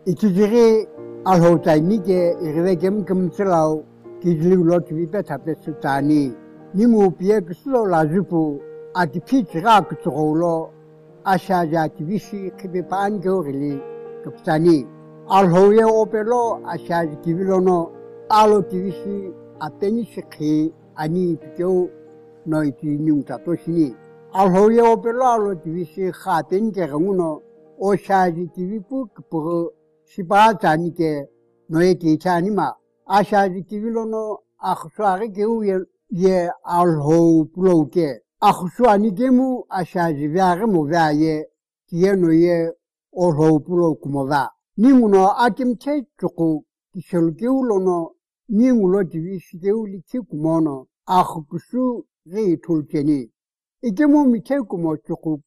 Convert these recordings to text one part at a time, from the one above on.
이치지리 알호자이니게 이르베겜 금슬라우 기질로트 비베 타페스타니 니무 비에 그슬로 라주부 아티피지가 그쪽으로 아샤자 기비시 키비반 겨울이 급사니 알호에 오벨로 아샤지 기빌로노 알로 기비시 아테니시키 아니 비교 너희지 뇽타토시니 알호에 오벨로 알로 기비시 하텐 게가무노 오샤지 기비부 그포 시바자니게 너의 기차니마 아샤지 기빌로노 아흐수아게 게우예 알호 플로게 아흐수아니게무 아샤지 비아게 모바예 기에노예 오호 플로 쿠모바 닝우노 아김체 쪼고 기셜게울로노 닝우로 디비시게울리 키쿠모노 아흐쿠수 레이톨케니 이게무 미체쿠모 쪼고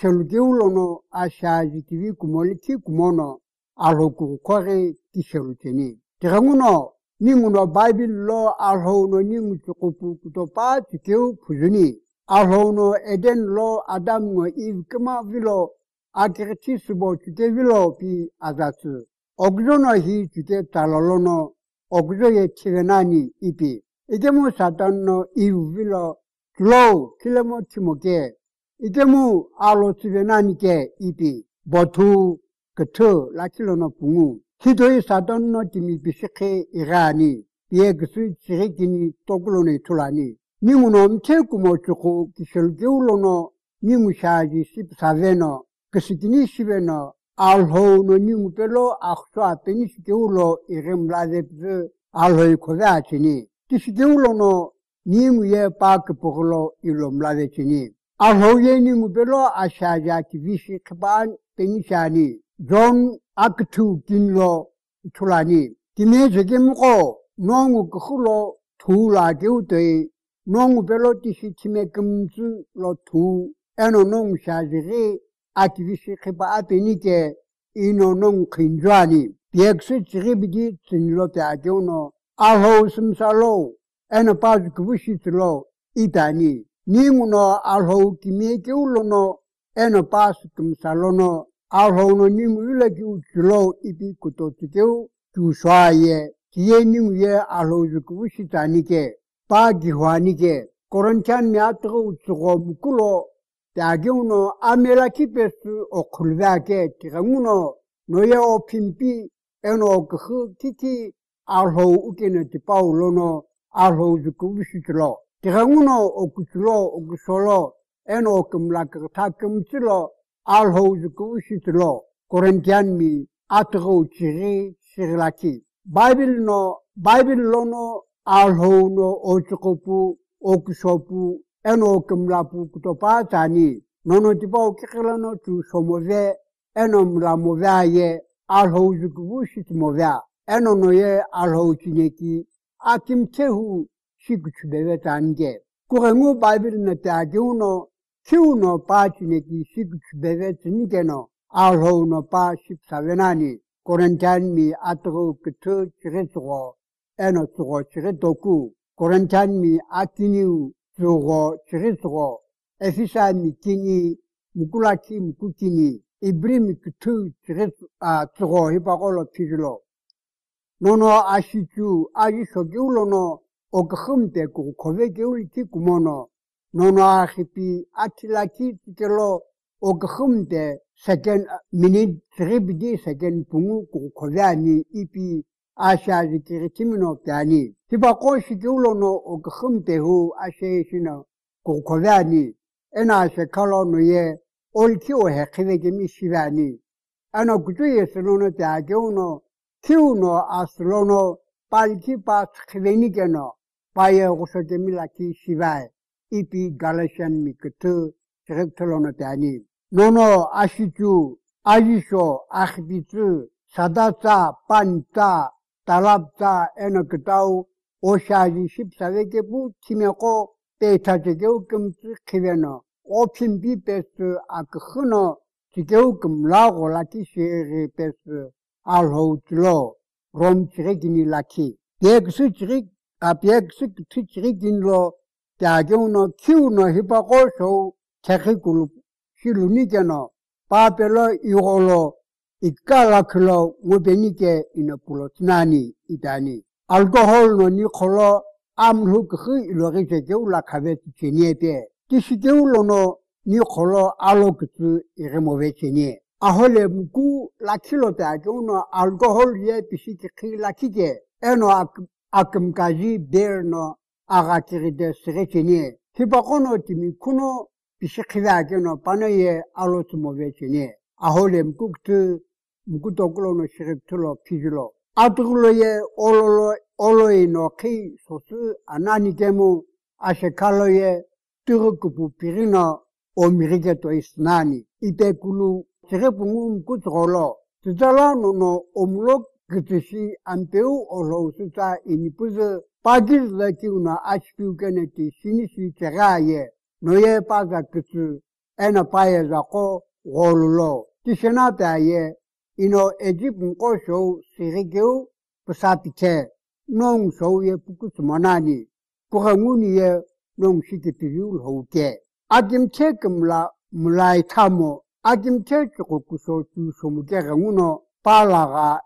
기셜게울로노 아샤지 기비쿠몰리 키쿠모노 알호쿠 코레 기셜케니 테가무노 닝우노 바이빌로 알호노 닝우 쪼고푸 쿠토파 티케우 푸즈니 알호노 에덴로 아담노 이브크마 빌로 아케르티스보 주게 빌로 비 아자스 ogzono hi 주게 달로노 ogzo에 치게나니 이비 이게무 사탄노 이빌로 글로 킬레모티모게 이게무 알로 치게나니게 이비 보투 그트 라킬로노 붕우 기도의 사탄노 티미 비시케 이라니 비에그스 지레기니 토글로네 툴라니 닝우노 쳬쿠모 쪼고 기셜게울로노 닝우샤지 십사베노 그시기니 시베노 알호노 닝우펠로 아흐수아 페니시게울로 이렘라데プ 알호이 코자치니 티시게울로노 닝우예 파크포글로 일롬라데치니 알호예 닝우펠로 아샤자 키비시 크반 페니샤니 존 아크투 긴로 툴라니 기메제게무고 농우 그훌로 투라게우데 농우펠로 티시치메 금즈로 투 에노 농샤지리 아티비시 크바 아페니게 이노농 킨좌니 비엑스 지리비디 진로테 아교노 알호 심살로 에노 파즈 그부시틀로 이다니 닝우노 알호 기메게울로노 에노 파스 금살로노 알호노 닝우일레기 우줄로 이비 쿠토티게우 주샤예 기에 닝우예 알호 그부시다니게 바기화니게 코런찬 미아트고 우츠고 무쿨로 다경노 아메라키페스 오쿨바게 티가무노 노예 오핀피 에노 그 키키 알호 우케네 티파울로노 알호 주쿠비시트로 티가무노 오쿠츠로 오쿠솔로 에노 금라크 타금츠로 알호 주쿠비시트로 코렌티안미 아트고 치리 시르라키 바이빌로노 알호노 오츠코푸 오쿠소푸 eno kumlapu kutopa tani nono tipo kikilano tu somove eno mlamova ye alho zukubushit movea eno noye alho chineki akim tehu shikuchubeve tange kurengu bible na tagiuno kiuno pa chineki shikuchubeve tinigeno alho no pa shipsavenani korentan mi atro kutu chiretsugo eno tsugo chiretoku korentan mi atiniu zugo chirizugo efisa mikini mukulaki mukukini ibrim kutu chirizu zugo hipagolo pizlo nono ashichu agishogiulono okhumte ku kovegeuliki kumono nono ahipi atilaki tikelo okhumte second minute tribidi second pungu ku kovani ipi asha zikiritimino tani tiba koshigeulono okhumtehu asheshino kokovani ena shekalo noye olkio hekivege mishivani ana kutuye selono tageuno kiuno aslono palki pas khivenigeno paye gosoke milaki shivai ipi galatian mikutu direktolono tani nono ashichu ajisho akhbitu sadata panta talabta enokitau 오샤지 십사회계 부 팀에고 데이터제교 금지 키베노 오핀비 베스 아크흐노 지교 금라고 라키 셰리 베스 알호틀로 롬치레기니 라키 덱스 지릭 아비엑스 티치리긴로 다교노 키우노 히바고쇼 체크굴 시루니게노 바벨로 이홀로 ikala ngobenike inopulotinani idani. Alcohol no nikolo amluk ilori la kavet cheniebe. Tishigeulo no nikolo aloktu iremove chenie. Ahole muku la kilote no alcohol ye pisiki la kige. Eno akumkaji ber no agakiride srechenie. Hibakono timi kuno pisiki no panaye alotumove chenie. Ahole mukutokulo no shiriptulo pijulo. Atuloye oloi no ki sosu anani kemu ashekaloye turukupu pirino o mirigeto isnani. Ite kulu shiripungu mkutrolo. Tutala no omulok kitishi ampeu olo suta inipuzu pagil laki una ashpiu keneti sinisi cheraye. Noye paza kitu ena paye zako golulo. Tishenate aye ino Egypt mko show sirigeu pasapite nong show ye pukusmanani kuranguni ye nong shikipiriul hoke adim tekemla mulai tamo adim techukuso tu somugera nguno palaga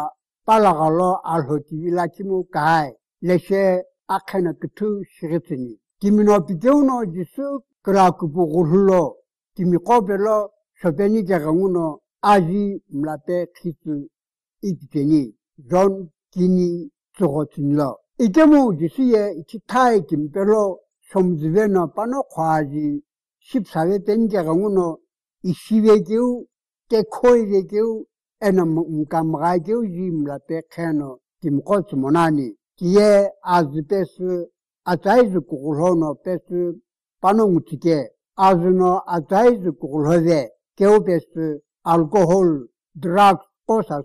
lo alhotivila kimu kai leshe akena kutu shiritini kimino pideuno jisu krakubu gullo kimikobelo sobeni geranguno aji mlape kitu ikiteni zon kini tsogotinlo. Ikemu jisiye ikitai kimpelo somzivena pano kwaji shipsawe tenjega nguno ishivekeu tekoivekeu ena mkamrageu ji mlape keno kimkotsu monani kiye azipesu ataizu kukulhono pesu pano ngutike azuno ataizu kukulhove keu pesu alcohol, drugs, cosas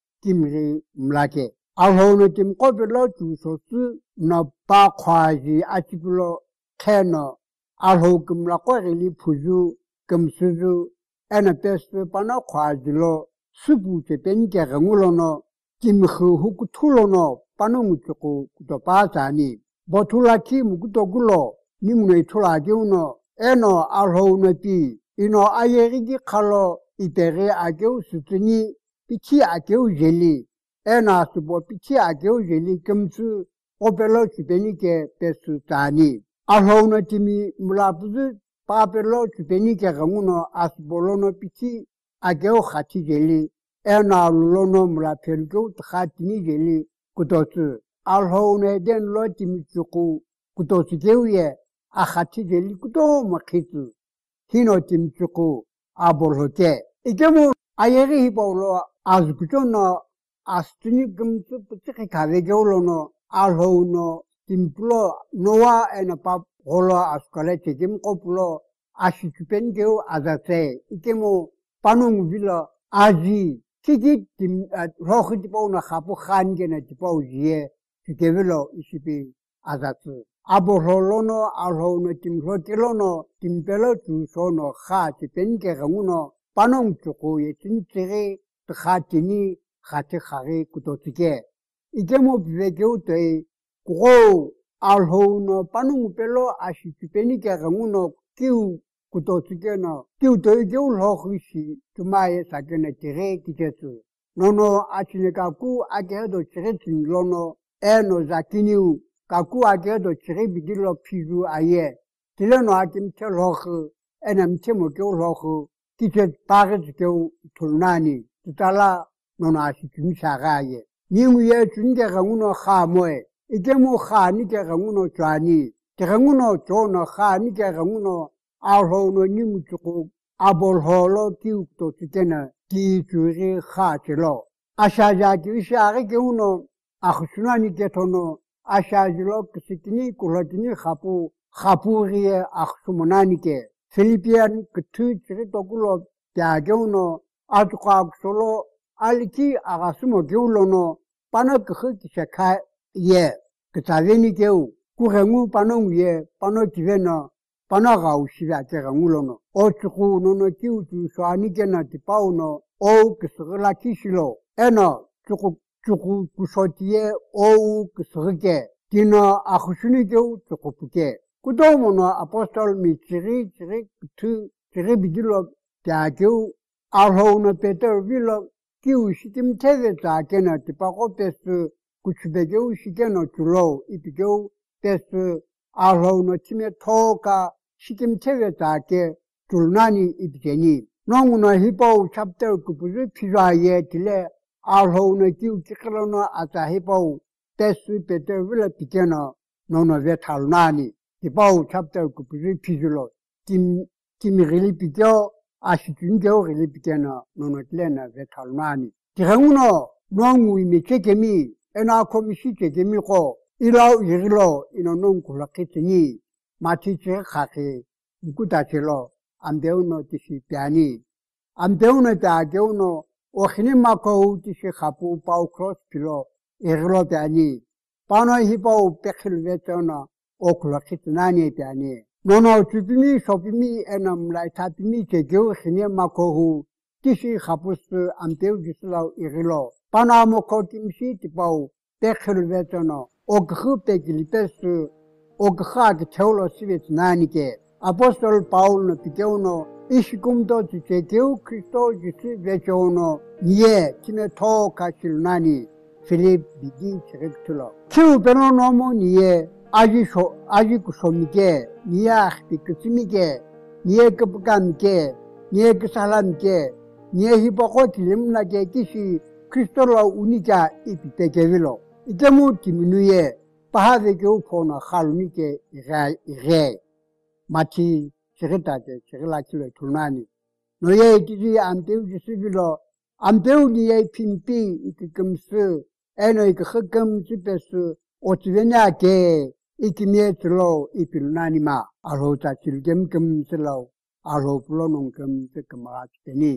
kimri mlake. Alhono tim kopelo chusosu no pa kwaji atipulo keno. Alho kimlako rili puju kimsuzu ena pesu pano kwaji lo supu tepenike rengulo no kimhu hukutulo no pano muchuku kutopazani. Botula ki mukutogulo nimno itulagi uno eno alhono pi ino ayerigi kalo ipere ageu sutuni pichi ageu jeli ena subo pichi ageu jeli kimsu opelo chupenike pesu tani alhono timi mulapuzu papelo chupenike ranguno asbolono pichi ageu khati jeli ena lulono mulapelgeu tkhatini jeli kutosu alhono den lo timi chuku kutosu geuye akhati jeli kuto makitu hino timi chuku abolhote ikemu ayeri hibolo azkutono astuni gumtu putiki kavegeulo no alhono timplo noa ena pap holo askale tekim kopulo ashikupengeu azate ikemu panung vila aji kiki tim rohitipo na khapu khangena tipo jie tikevilo isipi azatu abololono alhono timhotilono timpelo tu sono kha tipenge ranguno panong chuko ye tintere tkhatini khate khare kutotike ikemo bvekeu te ko alhono panong pelo ashitipeni ke ranguno kiu kutotike no kiu to geu lohishi tumaye sakene tere kitetsu nono achine kaku agedo chiretin lono eno zakiniu kaku agedo chiri bidilo pizu aye tileno akim te lohu enam temo geu lohu kitet paget geu tulnani tutala nono ashikim shagaye ningu ye chunge ranguno kha moe ikemu kha ni ke ranguno chwani ke ranguno chono kha ni ke ranguno alhono ningu chuko abol holo kiu to tikena ki churi kha chelo ashaja ki shage geuno akhsunani ketono ashajilo kisikini kulatini khapuriye akhsumonanike Philippian kutu chiritokulo tiageuno atukak solo aliki agasumo geulono pano khe kishaka ye kitaveni geu kurengu pano ye pano tiveno pano gaushira kerangulono ochuku nono kiutu soanike na tipauno o kisrila kishilo eno chuku kusotie o kisrike tino akhsunigeu chukupuke kudomono apostol mi chiri kutu chiri bidilo tiageu 알호우는 베터 빌러 기우시김 테베자 게나 디바고 베스 구치베게우 시게노 줄로 이비게우 베스 알호우는 팀에 토가 시김 테베자 게 줄나니 이비게니 농우는 히바우 찹터 그부르 피자에 딜레 알호우는 기우 지클로노 아자 히바우 베스 베터 빌러 비게노 노노 베탈나니 히바우 찹터 그부르 피줄로 김미리 비교 아시준교 릴비게나 노노틀레나 베탈나니 디랑우노 농우이미 체게미 에나코미시 체게미고 이라우 이르로 이노농 굴라케티니 마티체 카케 무쿠다체로 안데우노 티시 피아니 안데우노 다게우노 오히니마코 티시 카푸 파우 크로스 필로 이르로 피아니 파노 히파우 페클베토나 오클라케티나니 피아니 노노 주비미 소비미 에남 라이타비미 제교 히네 마코후 티시 카푸스 안테우 기슬라우 이글로 파나모 코팀시 티파우 베클베토노 오그 베길베스 오그하게 테올로시베트 나니게 아포스톨 파울노 피케우노 이시kum도 제교 크리스토 지스 베조노 니에 티메 토카실 나니 필립 비기 체렉툴로 키우 베노노모 니에 아지쿠 소미게 니야 비크치미게 니에 급감게 니에 그살람게 니에 히바고 딜림나게 기시 크리스토로 우니자 이피테게빌로 이게무 디미누에 바하데게 우포나 칼미게 이게 마치 세르타게 세르라키로 투나니 노예 기지 안테우 지시빌로 안테우 니에 핀피 이금스 에노이 그 흑금 집에서 오치베냐게 이키미에슬로 이필나니마 알호자 질겜금슬로 알호플로농금 즈금아치니